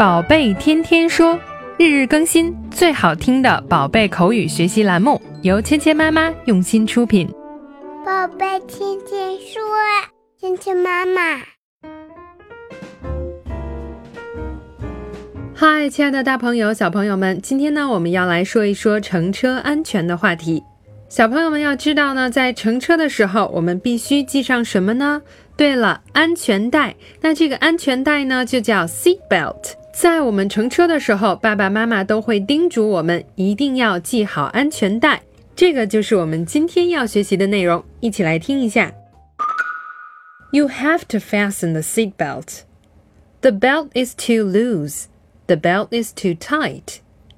宝贝天天说，日日更新，最好听的宝贝口语学习栏目，由芊芊妈妈用心出品。 宝贝天天说，芊芊妈妈。 嗨，亲爱的大朋友小朋友们，今天呢我们要来说一说乘车安全的话题。小朋友们要知道呢，在乘车的时候我们必须系上什么呢？对了，安全带。那这个安全带呢就叫 seat belt。在我们乘车的时候，爸爸妈妈都会叮嘱我们一定要系好安全带。这个就是我们今天要学习的内容，一起来听一下。You have to fasten the seat belt. The belt is too loose. The belt is too tight.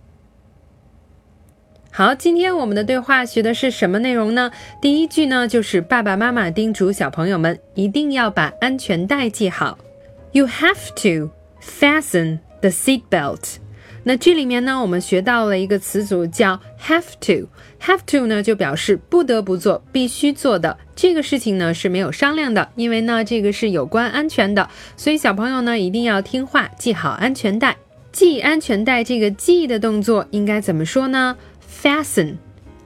好，今天我们的对话学的是什么内容呢？第一句呢，就是爸爸妈妈叮嘱小朋友们一定要把安全带系好。You have to fasten the seat belt. 那这里面呢，我们学到了一个词组叫 have to. Have to 呢，就表示不得不做，必须做的。这个事情呢是没有商量的，因为呢这个是有关安全的，所以小朋友呢一定要听话，系好安全带。系安全带这个系的动作应该怎么说呢？ Fasten.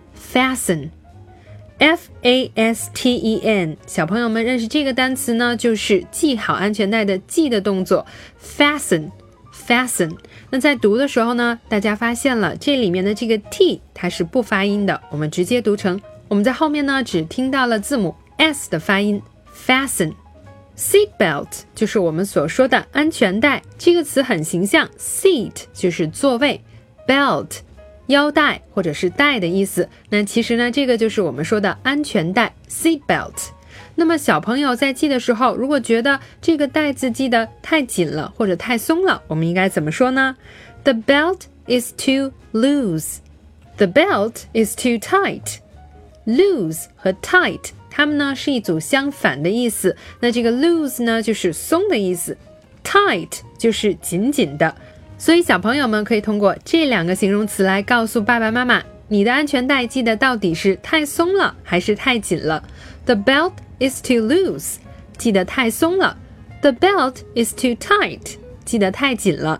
F-A-S-T-E-N 小朋友们认识这个单词呢，就是系好安全带的系的动作 Fasten. 那在读的时候呢，大家发现了这里面的这个 T 它是不发音的，我们直接读成，我们在后面呢只听到了字母 S 的发音 Fasten. Seat belt 就是我们所说的安全带，这个词很形象， seat 就是座位， belt 腰带或者是带的意思，那其实呢这个就是我们说的安全带 seat belt。 那么小朋友在系的时候，如果觉得这个带子系得太紧了或者太松了，我们应该怎么说呢？ The belt is too loose. The belt is too tight. Loose 和 tight它们呢是一组相反的意思，那这个 loose 呢就是松的意思， tight 就是紧紧的，所以小朋友们可以通过这两个形容词来告诉爸爸妈妈，你的安全带系的到底是太松了还是太紧了。 The belt is too loose 系得太松了， The belt is too tight 系得太紧了。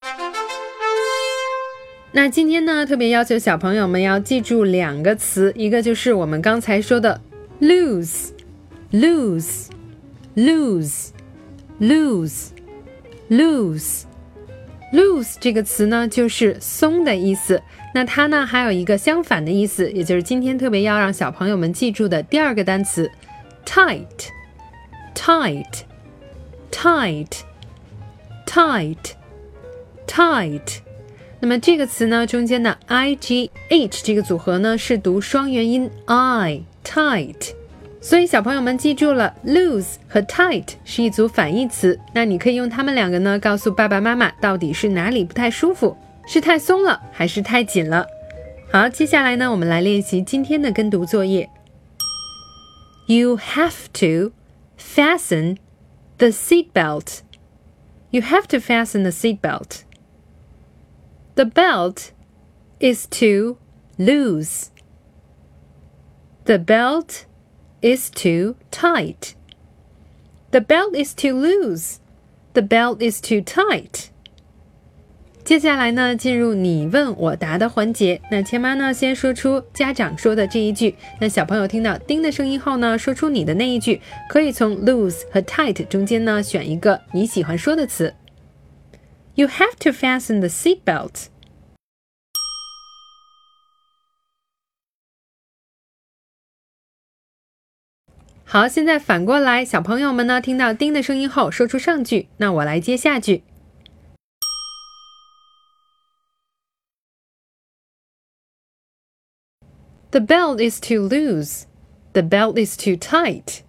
那今天呢特别要求小朋友们要记住两个词，一个就是我们刚才说的Loose 这个词呢就是松的意思，那它呢还有一个相反的意思，也就是今天特别要让小朋友们记住的第二个单词 tight。 那么这个词呢中间的 IGH 这个组合呢是读双元音 I tight， 所以小朋友们记住了 loose 和 tight 是一组反义词，那你可以用它们两个呢告诉爸爸妈妈到底是哪里不太舒服，是太松了还是太紧了。好，接下来呢我们来练习今天的跟读作业。 You have to fasten the seat belt. You have to fasten the seat belt. The belt is too loose. The belt is too tight. The belt is too loose. The belt is too tight. 接下来呢进入你问我答的环节，那千妈呢先说出家长说的这一句，那小朋友听到叮的声音后呢说出你的那一句，可以从 loose 和 tight 中间呢选一个你喜欢说的词。 You have to fasten the seat belt.好，现在反过来，小朋友们呢听到叮的声音后说出上句，那我来接下句。The belt is too loose. The belt is too tight.